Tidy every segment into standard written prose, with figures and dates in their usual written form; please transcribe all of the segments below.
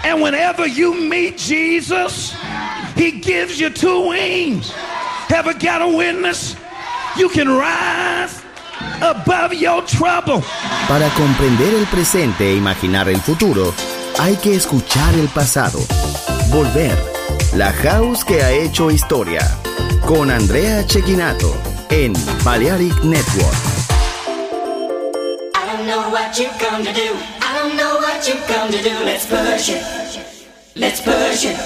And whenever you meet Jesus, he gives you two wings. Ever got a witness? You can rise above your trouble. Para comprender el presente e imaginar el futuro, hay que escuchar el pasado. Volver. La house que ha hecho historia. Con Andrea Cecchinato en Balearic Network. I don't know what you come to do. I don't know what you come to do. Let's push it. Let's push it.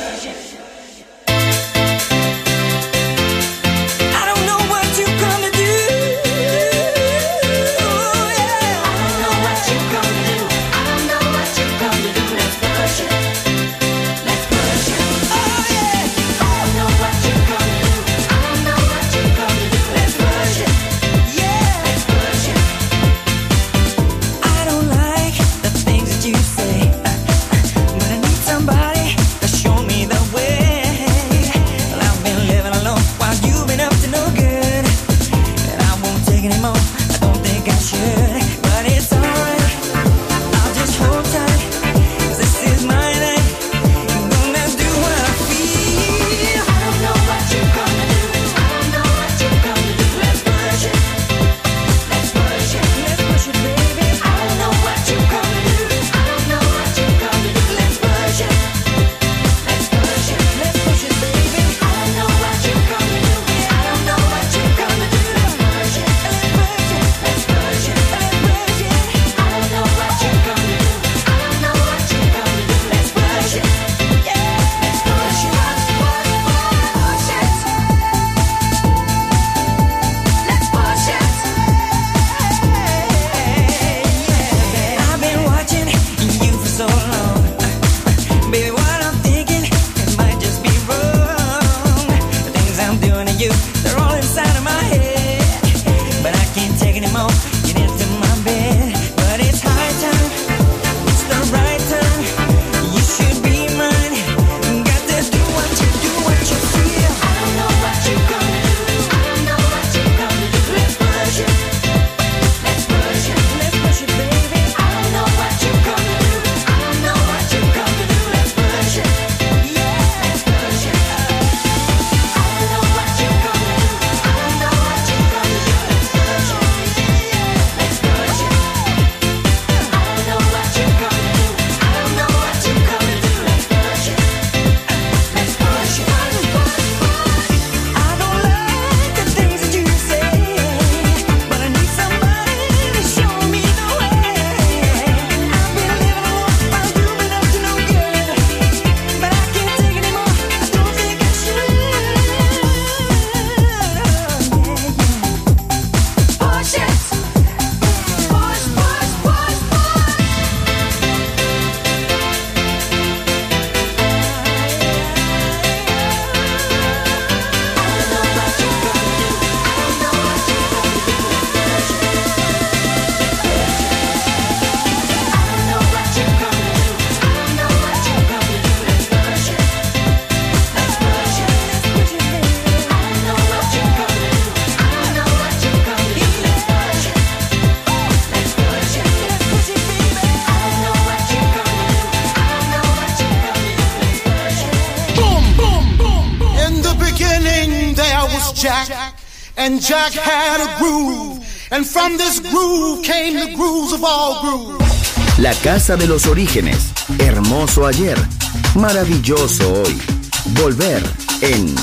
And Jack had a groove, and from this groove came the grooves of all grooves. La casa de los orígenes, hermoso ayer, maravilloso hoy. Volver en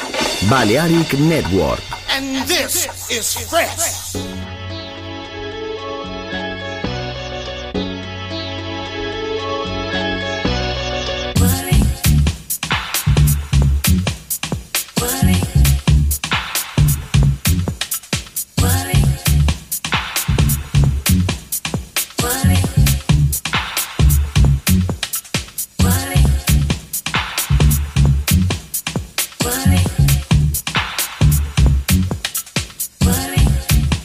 Balearic Network. And this is fresh. Worry.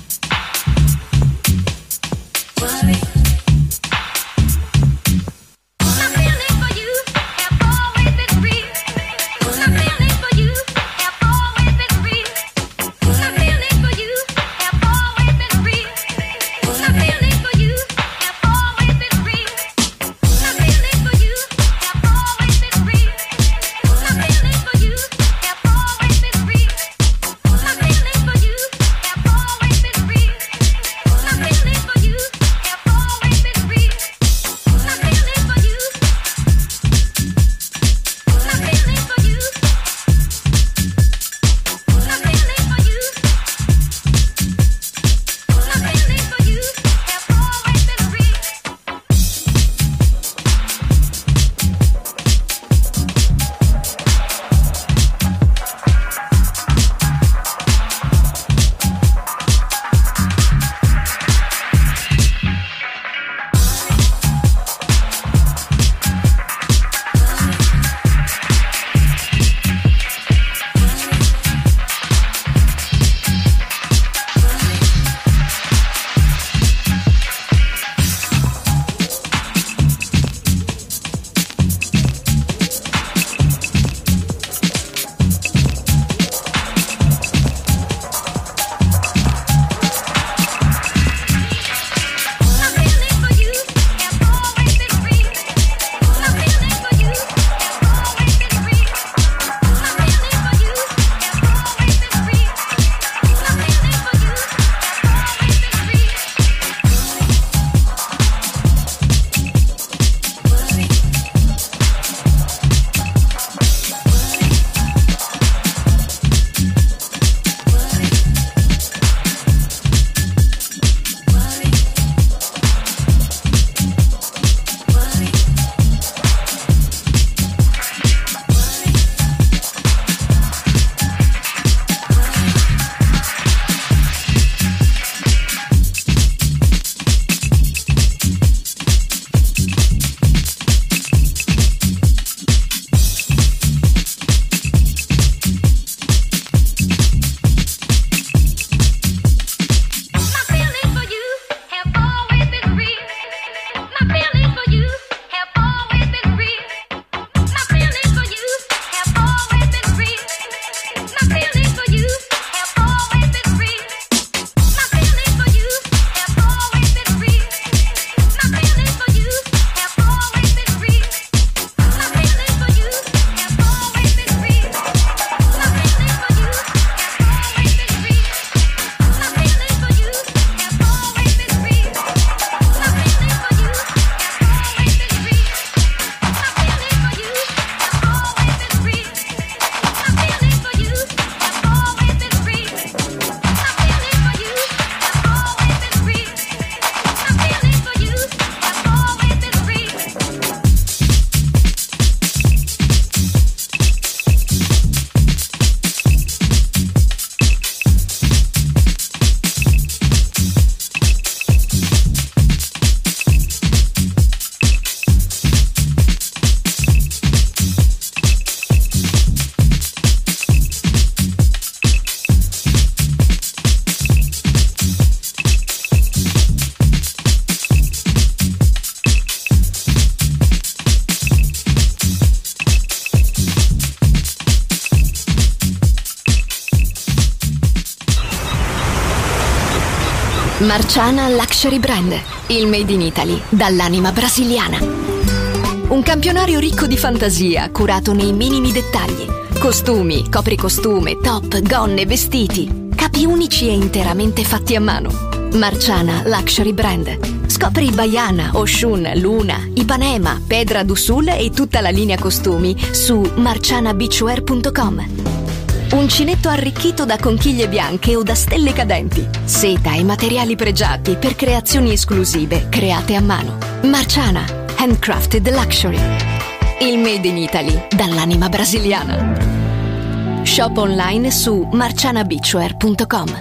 Marciana Luxury Brand, il made in Italy dall'anima brasiliana. Un campionario ricco di fantasia, curato nei minimi dettagli. Costumi, copricostume, top, gonne, vestiti. Capi unici e interamente fatti a mano. Marciana Luxury Brand. Scopri Baiana, Oshun, Luna, Ipanema, Pedra do Sul e tutta la linea costumi su marcianabeachwear.com. Uncinetto arricchito da conchiglie bianche o da stelle cadenti. Seta e materiali pregiati per creazioni esclusive create a mano. Marciana, handcrafted luxury. Il made in Italy dall'anima brasiliana. Shop online su marcianabeachwear.com.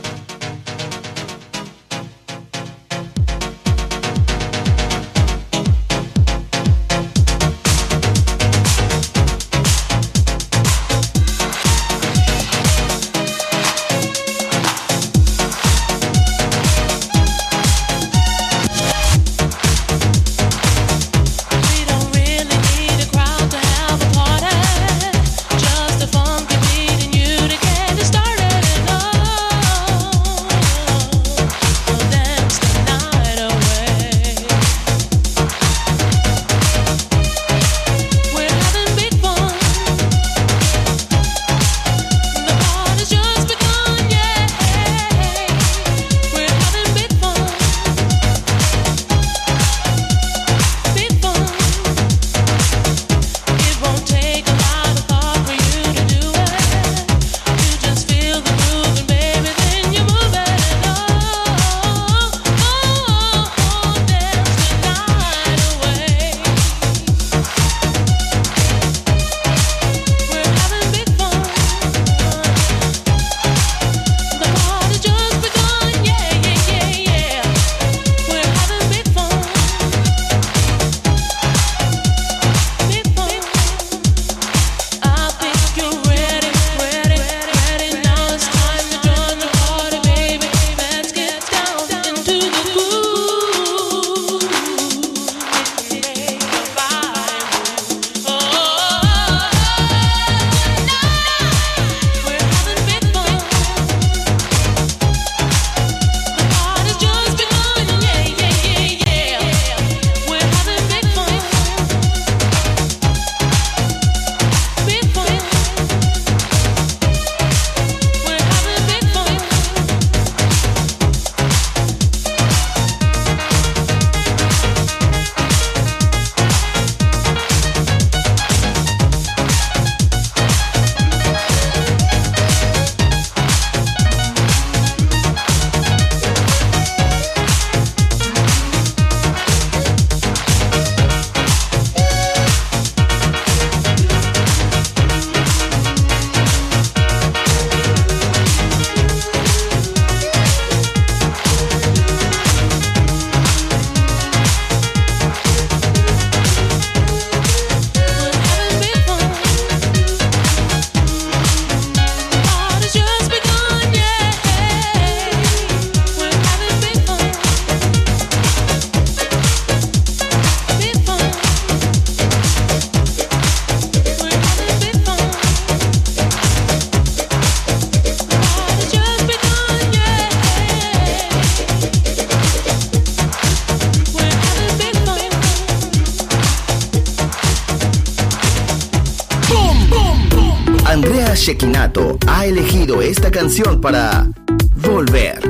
Andrea Cecchinato ha elegido esta canción para Volver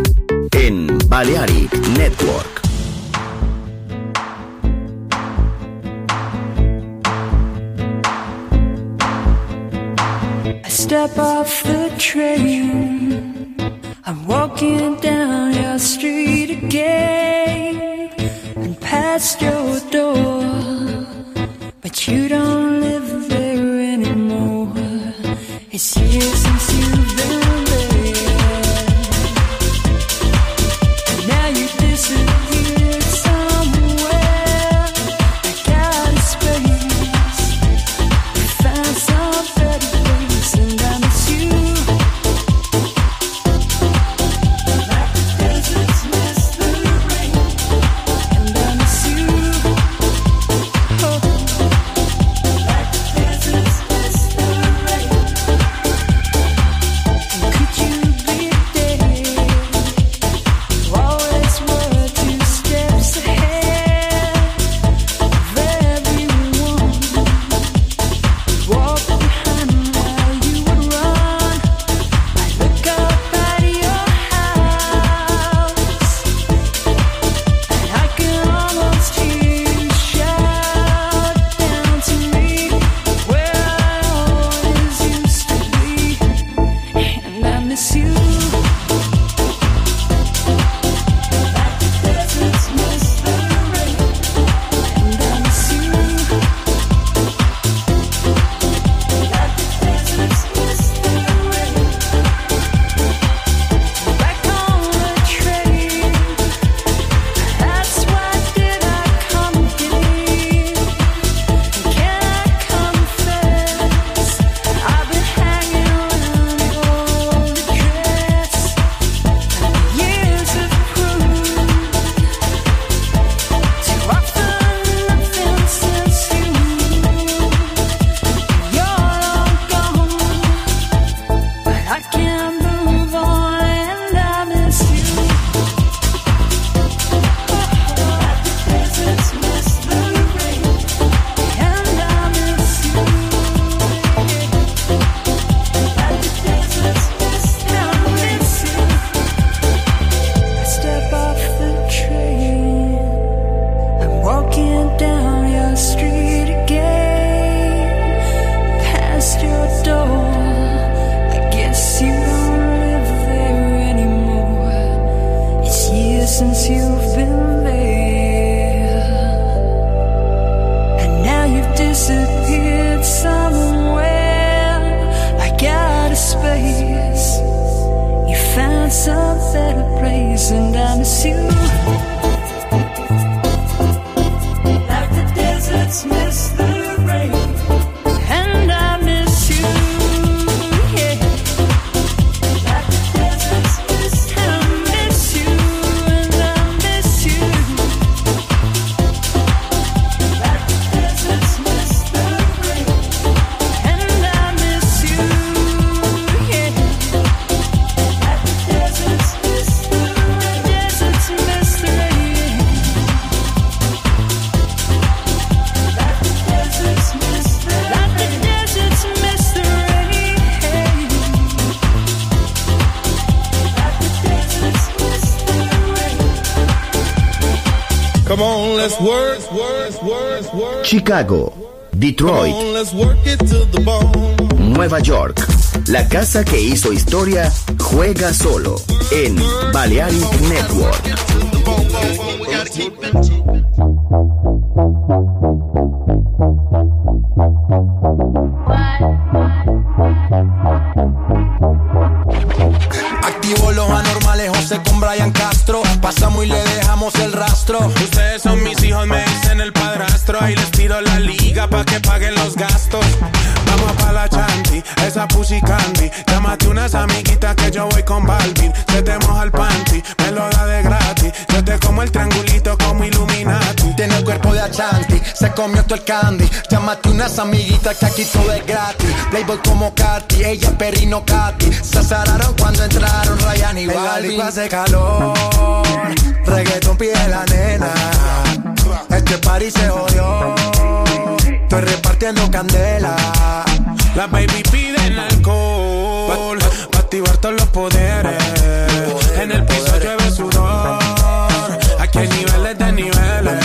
en Balearic Network. I step off the train, I'm walking down your street again and past your door, but you don't live there anymore. It's years since you've been there, and now you disappeared somewhere. I got a space, I found some better place, and I miss you like the deserts miss the rain, and I miss you, oh, like the deserts miss the rain. disappeared somewhere. I got a space. You found some better place, and I miss you. Like the deserts miss the rain, and I miss you. Yeah. Like the deserts miss, I miss you, and I miss you. Like the deserts miss the rain, and I miss you. Yeah. Like the deserts miss the rain, deserts miss the rain. Like the deserts miss the rain, like the deserts miss the rain. Like the deserts miss the rain. Come on, let's work. Chicago, Detroit, Come on, let's work it to the bone. Nueva York. La casa que hizo historia juega solo en Balearic Network. Activo los anormales, José con Brian Castro. Pasamos y le dejamos el rastro. Ustedes son mis hijos, me dicen el padrastro. Ahí les tiro la liga pa' que paguen los gastos. Vamos pa' la chanti, esa pussy candy. Llámate unas amiguitas que yo voy con Balvin. Se te moja el panty, me lo da de gratis. Yo te como el triangulito como Illuminati. Tiene el cuerpo de Achanti, se comió todo el candy. Llámate unas amiguitas que aquí todo es gratis. Playboy como Katy, ella Perrino Katy. Se azararon cuando entraron Ryan y Balvin. Hace calor, reggaeton pide la nena. Este party se jodió, estoy repartiendo candela. Las baby piden alcohol pa' activar todos los poderes. En el piso llueve sudor. Aquí hay niveles de niveles.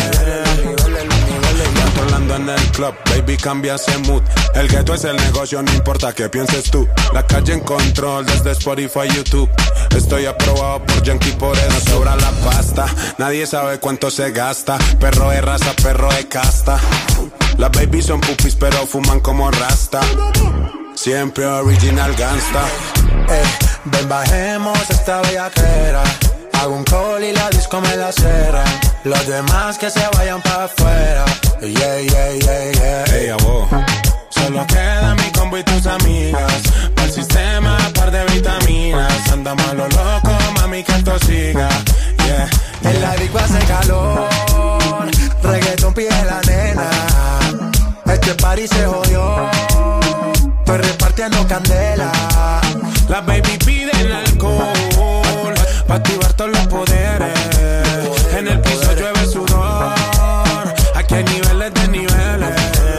Controlando en el club, baby cambia ese mood. El ghetto es el negocio, no importa qué pienses tú. La calle en control desde Spotify, YouTube. Estoy aprobado por Yankee, por eso sobra la pasta. Nadie sabe cuánto se gasta. Perro de raza, perro de casta. Las babies son pupis pero fuman como rasta. Siempre original gangsta. Ven bajemos esta bellaquera. Hago un call y la disco me la cera. Los demás que se vayan para afuera. Yeah, yeah, yeah, yeah. Hey, abo. Solo queda mi combo y tus amigas. Para el sistema, par de vitaminas. Andamos a lo loco, mami, que esto siga. Yeah, yeah. En la disco hace calor, reggaeton pide la nena. Este party se jodió, estoy repartiendo candela. Las baby piden alcohol pa' activar todos los poderes. En el piso llueve sudor. Aquí hay niveles de niveles.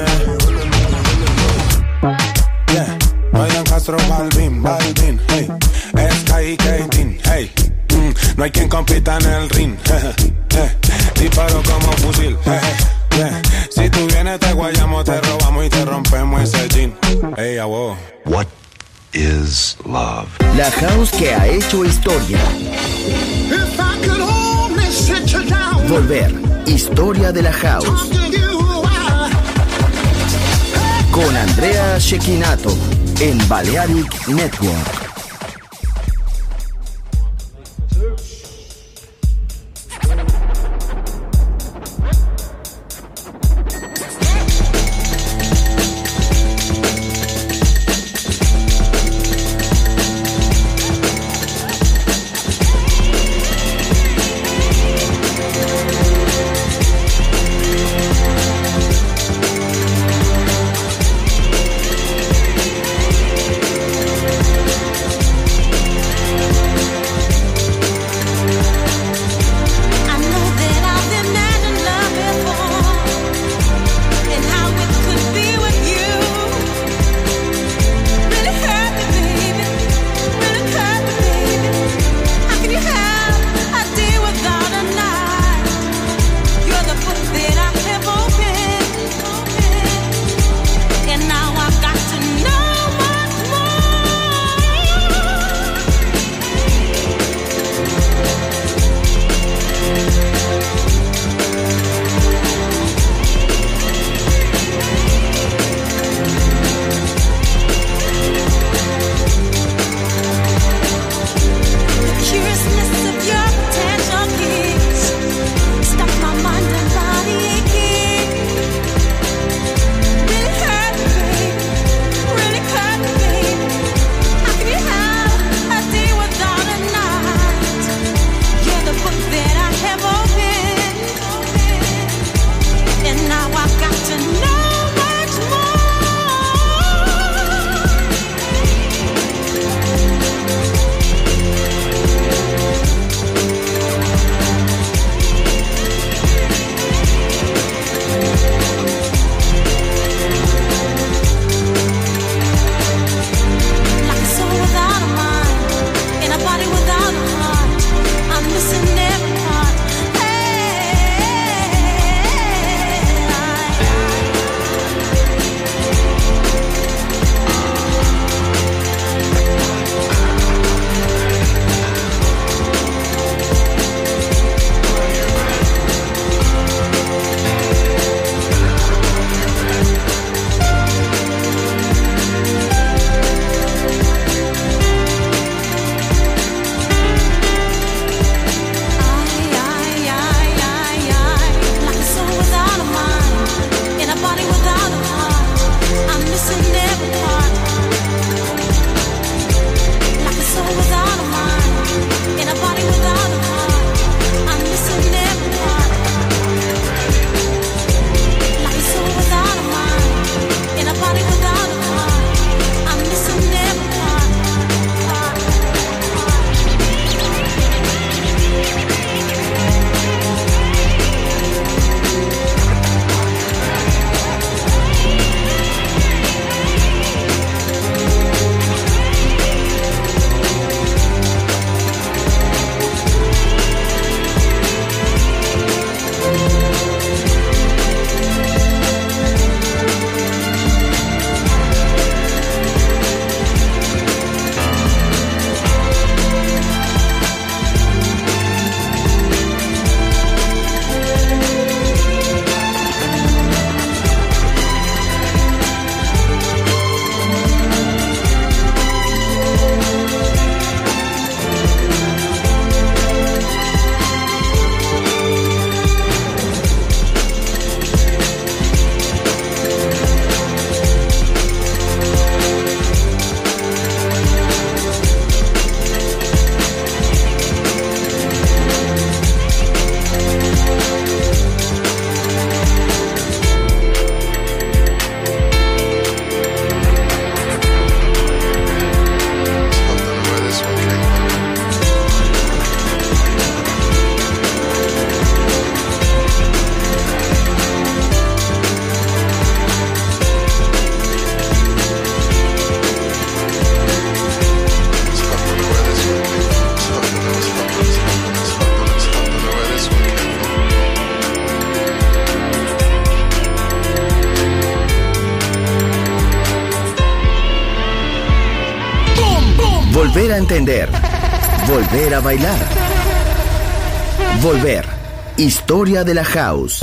Yeah, Ryan Castro, Balvin, hey. Sky y Katin, hey. No hay quien compita en el ring. Disparo como fusil. Yeah. Si tú vienes te guayamos, te robamos y te rompemos ese jean. Hey, abo. What is love? La house que ha hecho historia. If I could only sit you down. Volver. Historia de la house. Talk to you, Con Andrea Cecchinato en Balearic Network. volver a entender, volver a bailar. Volver. Historia de la house.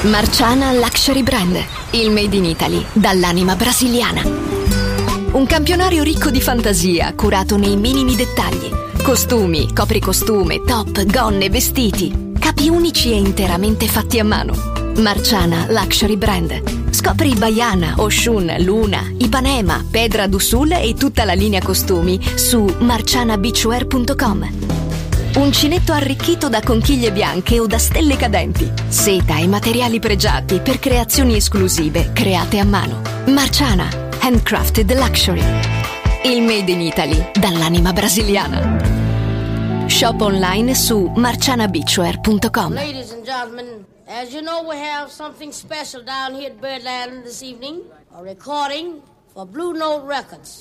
Marciana Luxury Brand, il made in Italy dall'anima brasiliana. Un campionario ricco di fantasia, curato nei minimi dettagli. Costumi, copricostume, top, gonne, vestiti. Capi unici e interamente fatti a mano. Marciana Luxury Brand. Scopri Baiana, Oshun, Luna, Ipanema, Pedra do Sul e tutta la linea costumi su marcianabeachwear.com. Uncinetto arricchito da conchiglie bianche o da stelle cadenti. Seta e materiali pregiati per creazioni esclusive create a mano. Marciana, handcrafted luxury. Il made in Italy dall'anima brasiliana. Shop online su marcianabeachwear.com. Ladies and gentlemen, as you know, we have something special down here at Birdland this evening. A recording for Blue Note Records.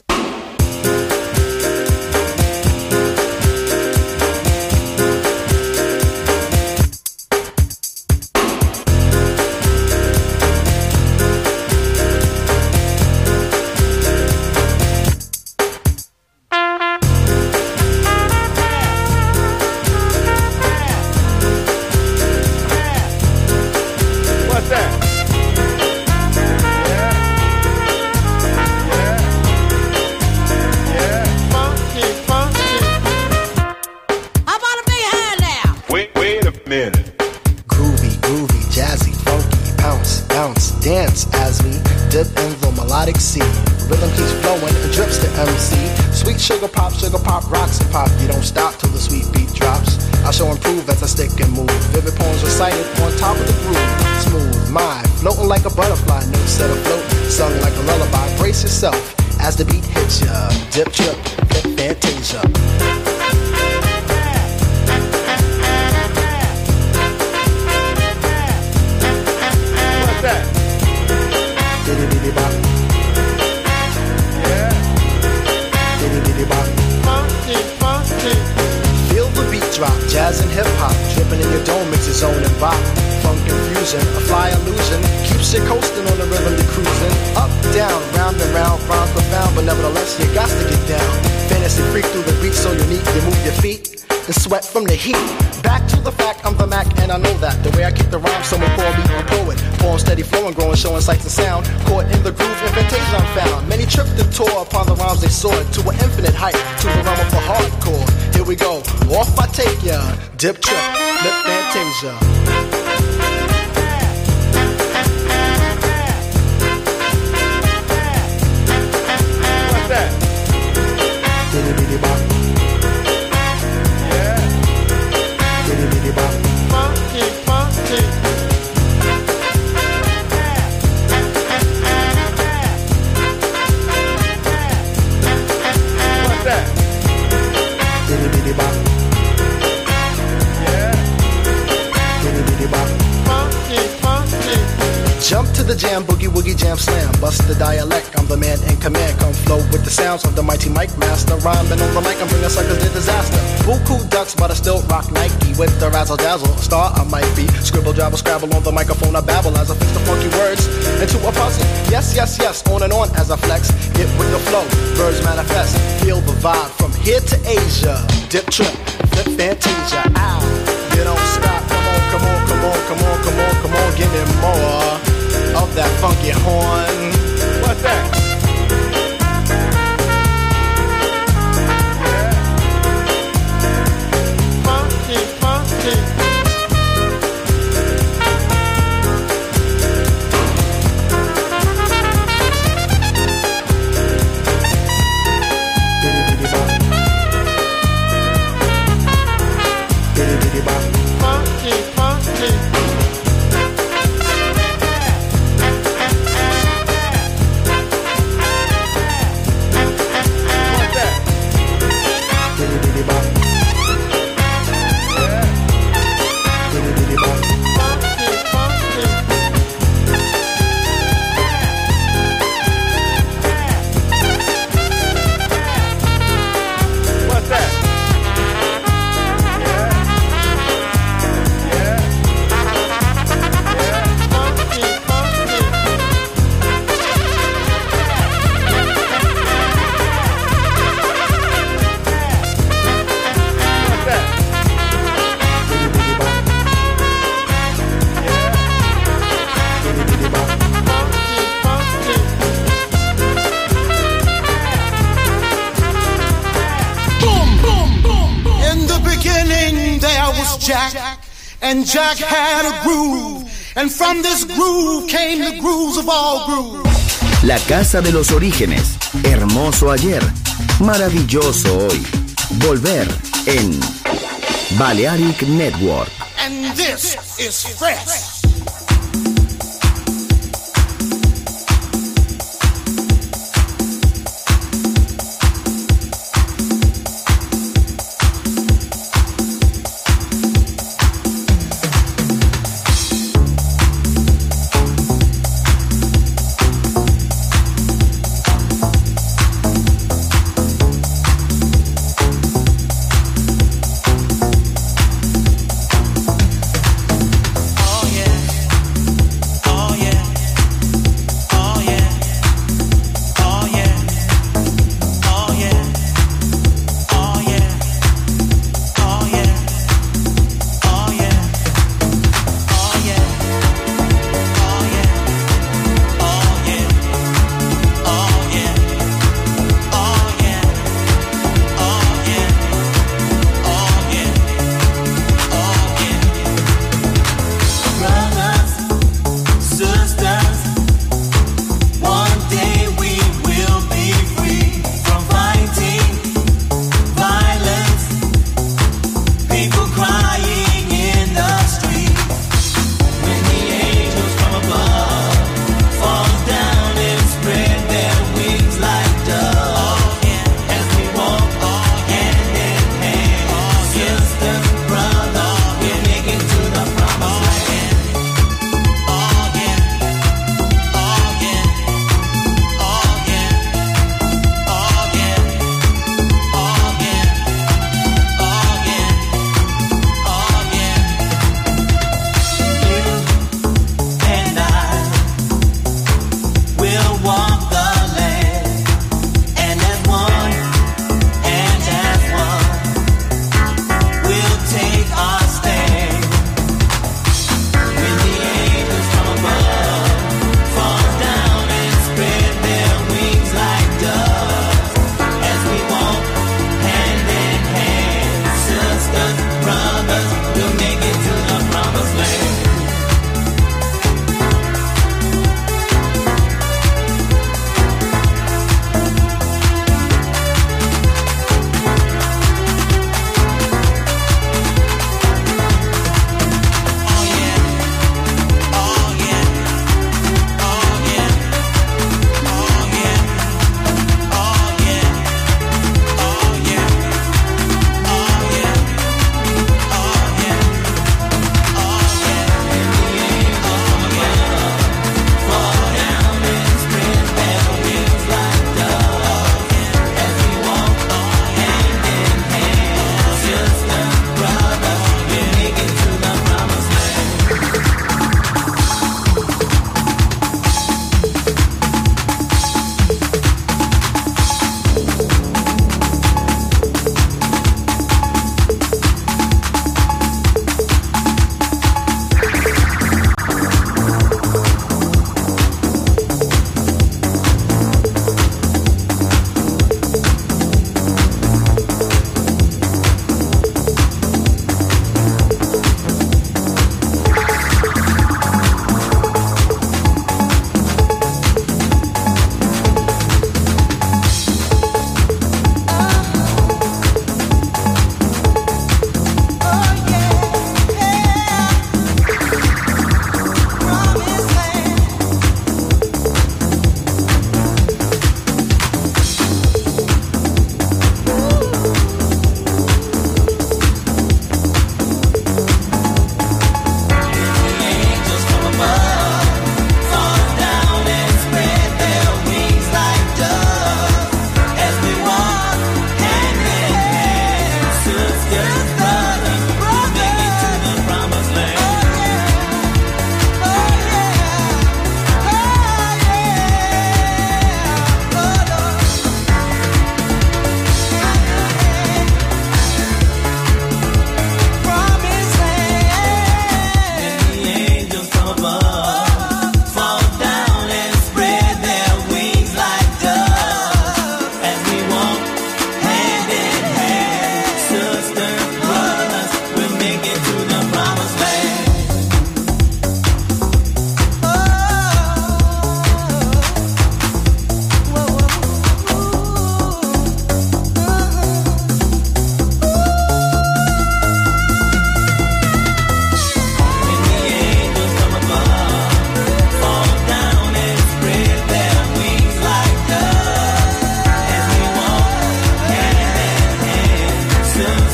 Sugar pop, rocks and pop. You don't stop till the sweet beat drops. I shall improve as I stick and move. Vivid poems recited on top of the groove. Smooth mind, floating like a butterfly. No set afloat, sung like a lullaby. Brace yourself as the beat hits ya. Dip, trip, flip, fantasia. What's that? Diddy bop. Feel the beat drop, jazz and hip hop, dripping in your dome, mix your zone and bop. Funk infusion, a fly illusion, keeps you coasting on the rhythm you're cruising. Up, down, round and round, rhymes profound, but nevertheless you got to get down. Fantasy freak through the beat so unique, you move your feet and sweat from the heat. Back to the fact, I'm the Mac and I know that. The way I kick the rhyme, someone call me a poet. Form steady flowing, growing, showing sights and sound. Caught in the groove, in fantasia I'm found. Many tripped and tore upon the rhymes they soared to an infinite height, to the realm of the hardcore. Here we go, off I take ya. Dip, trip, lip, fantasia. What's that? Diddy bop. Diddy bop. Funky. What's that? Diddy bop. Diddy bop. Funky. Jump to the jam, boogie woogie jam slam. Bust the dialect, I'm the man in command. Come flow with the sounds of the mighty mic master. Rhyming on the mic, I'm bringing suckers to disaster. Buku ducks, but I still rock Nike. With the razzle dazzle, a star I might be. Scribble, jabble, scrabble on the microphone, I babble as I fix the funky words into a puzzle. Yes, on and on as I flex. Get with the flow, birds manifest. Feel the vibe from here to Asia. Dip, trip, flip, fantasia. Ow, you don't stop. Come on, give me more of that funky horn. What's that? Funky. was Jack, and Jack had a groove, and from this groove came the grooves of all grooves. La casa de los orígenes, hermoso ayer, maravilloso hoy. Volver en Balearic Network. And this is fresh. Oh yeah.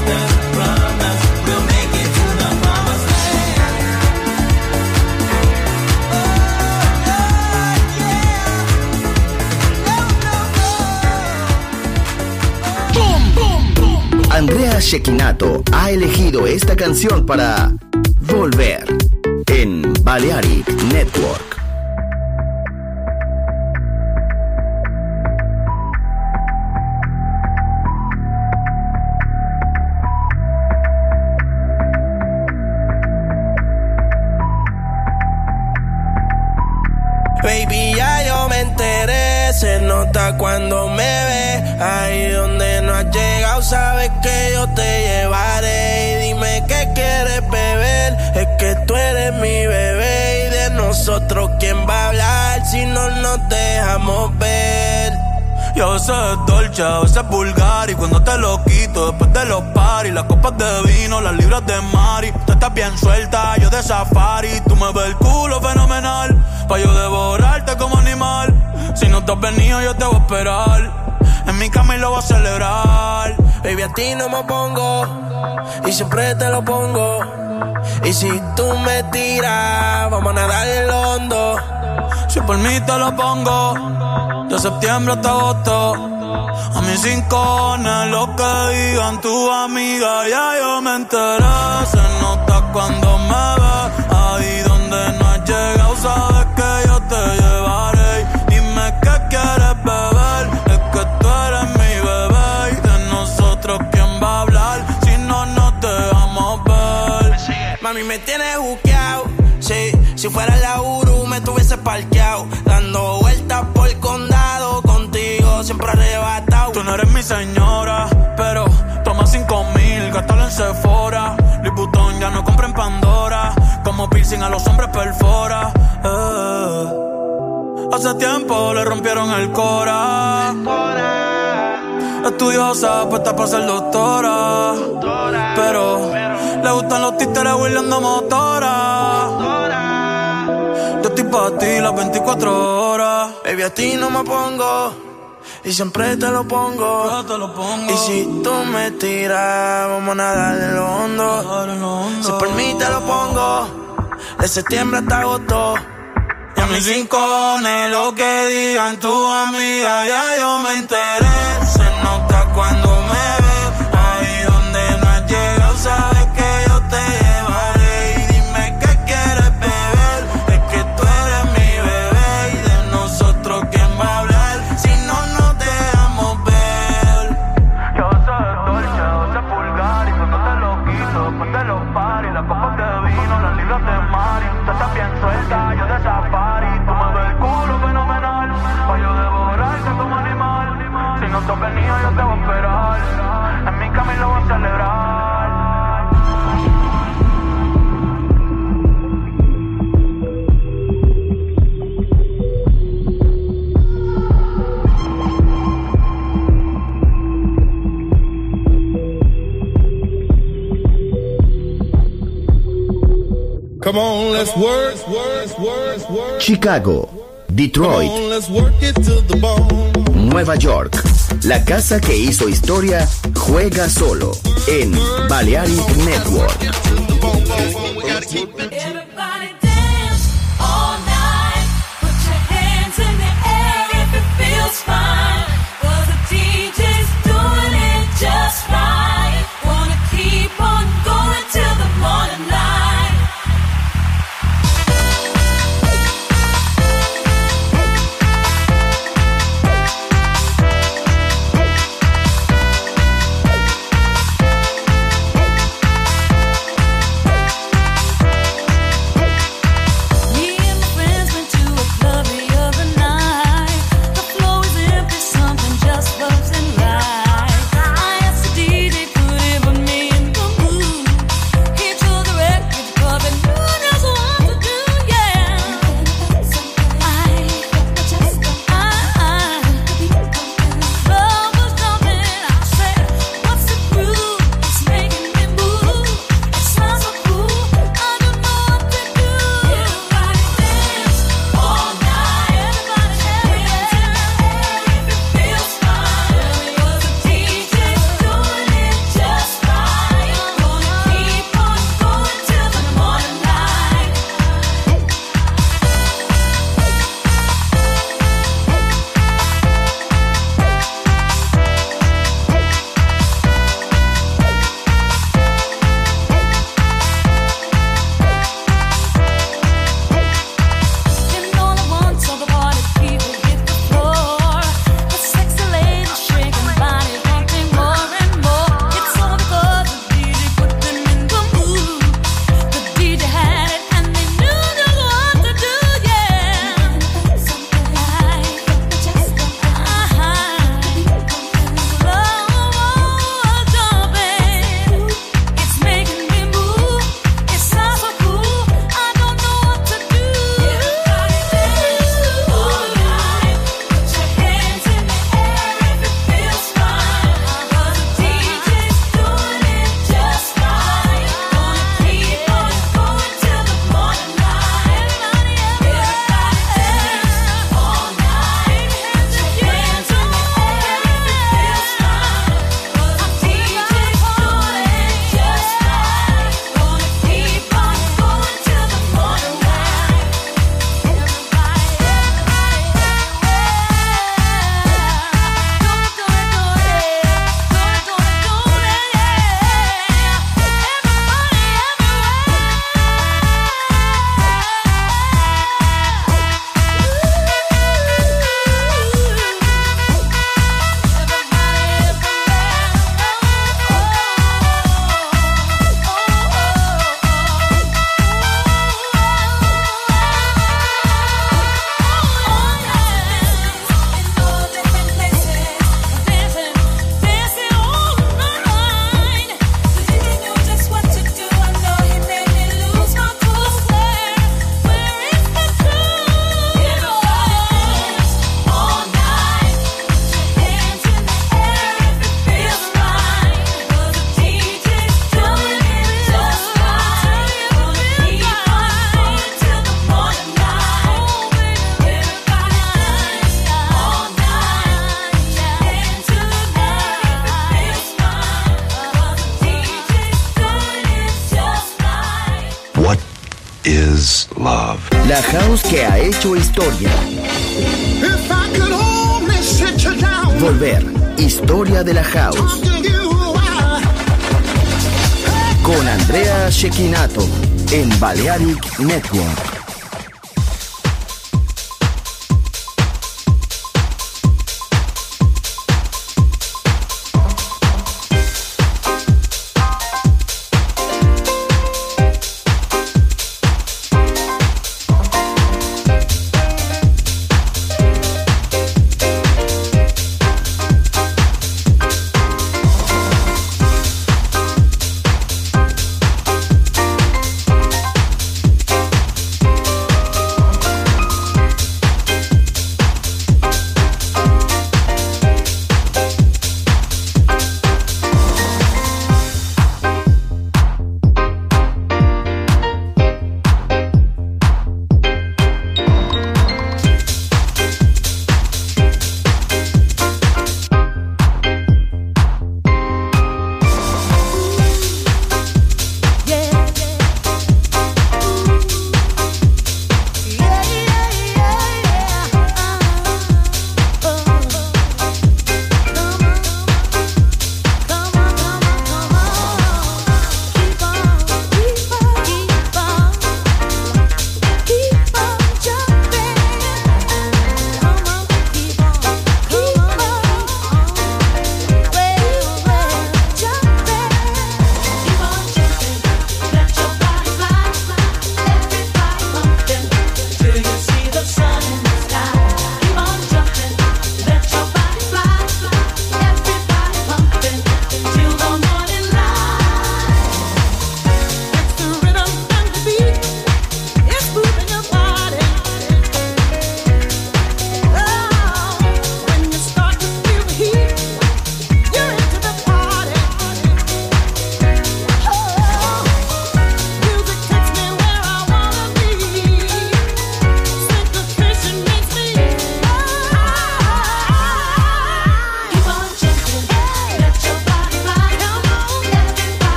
Andrea Cecchinato ha elegido esta canción para Volver en Balearic Network. Baby, ya yo me enteré, se nota cuando me ves. Ahí donde no has llegado, sabes que yo te llevaré. Y dime qué quieres beber, es que tú eres mi bebé. Y de nosotros, ¿quién va a hablar si no nos dejamos ver? Y a veces es dolce, a veces es vulgar. Y cuando te lo quito, después de los paris, las copas de vino, las libras de Mari. Tú estás bien suelta, yo de safari. Tú me ves el culo fenomenal, pa' yo devorarte como animal. Si no te has venido, yo te voy a esperar. En mi cama y lo voy a celebrar. Baby, a ti no me pongo, y siempre te lo pongo. Y si tú me tiras, vamos a nadar el hondo. Si por mí te lo pongo, de septiembre hasta agosto. A mis rincones, lo que digan tu amiga, ya yo me enteré. Se nota cuando me ves, ahí donde no has llegado, sabes que yo te llevaré. Dime qué quieres beber, es que tú eres mi bebé. Y de nosotros, ¿quién va a hablar si no nos dejamos ver? Mami, me tienes juqueado, sí. Si fuera la Uru, me tuviese parqueado, dando vueltas por el condado, contigo siempre arrebatado. Tú no eres mi señora, pero toma 5,000, gástalo en Sephora. Liputón ya no compra en Pandora, como piercing a los hombres perfora. Hace tiempo le rompieron el cora. Estudiosa, puesta para ser doctora, pero le gustan los títeres huirleando motora. Yo estoy pa' ti las 24 horas. Baby, a ti no me pongo, y siempre te lo pongo. Y si tú me tiras, vamos a nadar en lo hondo. Si por mí te lo pongo, de septiembre hasta agosto. Y a mis rincones, lo que digan tu amiga, ya yo me enteré. Se nota cuando me ves, ahí donde no has llegado, sabes que yo te llevaré. Y dime qué quieres beber, es que tú eres mi bebé. Y de nosotros, ¿quién va a hablar si no nos dejamos ver? Yo soy dolce, soy vulgar. Y cuando te lo quito, después de los paris, las copas de vino, las libras de Mari. Tú estás bien suelta, yo de safari. Tú me ves el culo fenomenal, pa' yo devorarte como animal. Si no te has venido, yo te voy a esperar. En mi cama y lo voy a celebrar. Come on, let's work. Chicago, Detroit, Come on, let's work it to the bone. Nueva York. La casa que hizo historia juega solo en Balearic Network. Everybody dance all night. Put your hands in the air if it feels fine. 'Cause the DJ's doing it just right. Wanna keep on going till the morning light. is love. La house que ha hecho historia. If I could only sit you down, Volver. Historia de la house. talk to you, Con Andrea Cecchinato en Balearic Network.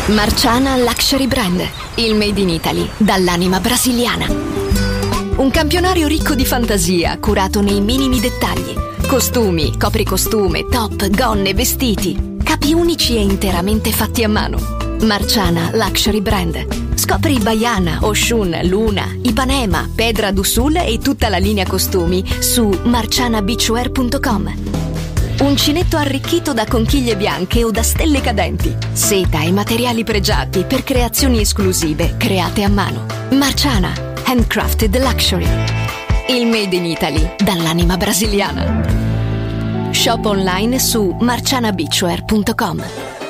Marciana Luxury Brand, il made in Italy dall'anima brasiliana. Un campionario ricco di fantasia, curato nei minimi dettagli. Costumi, copricostume, top, gonne, vestiti. Capi unici e interamente fatti a mano. Marciana Luxury Brand. Scopri Baiana, Oshun, Luna, Ipanema, Pedra do Sul e tutta la linea costumi su marcianabeachwear.com. Uncinetto arricchito da conchiglie bianche o da stelle cadenti. Seta e materiali pregiati per creazioni esclusive create a mano. Marciana, handcrafted luxury. Il made in Italy dall'anima brasiliana. Shop online su marcianabeachwear.com.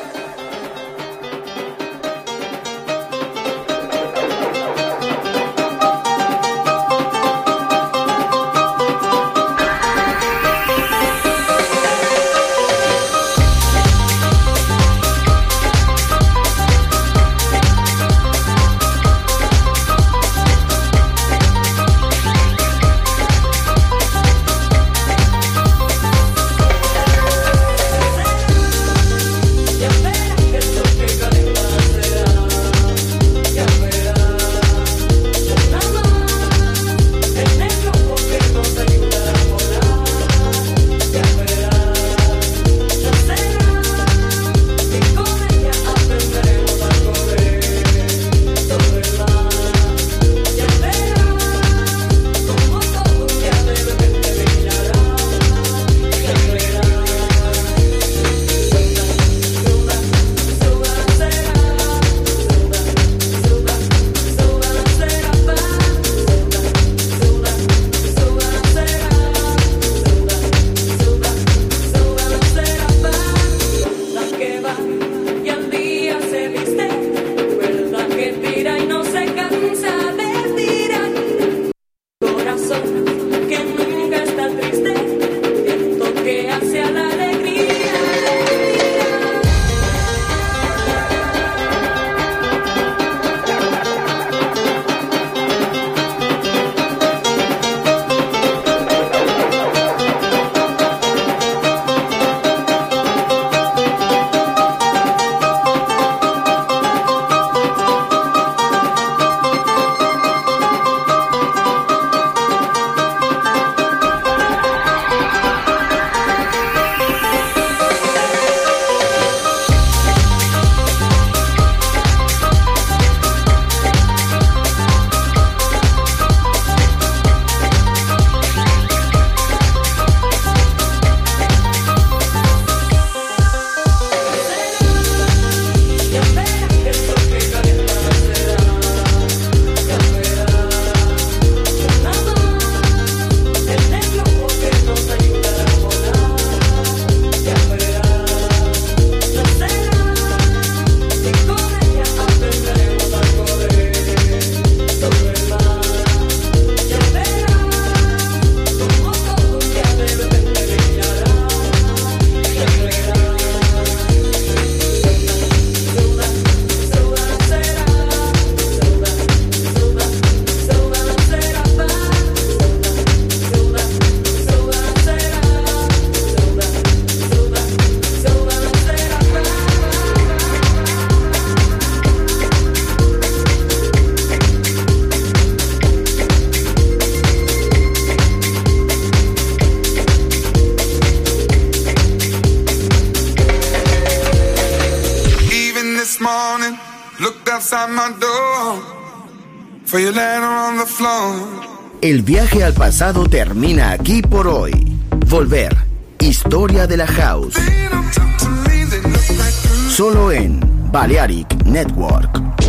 El viaje al pasado termina aquí por hoy. Volver. Historia de la House. Solo en Balearic Network.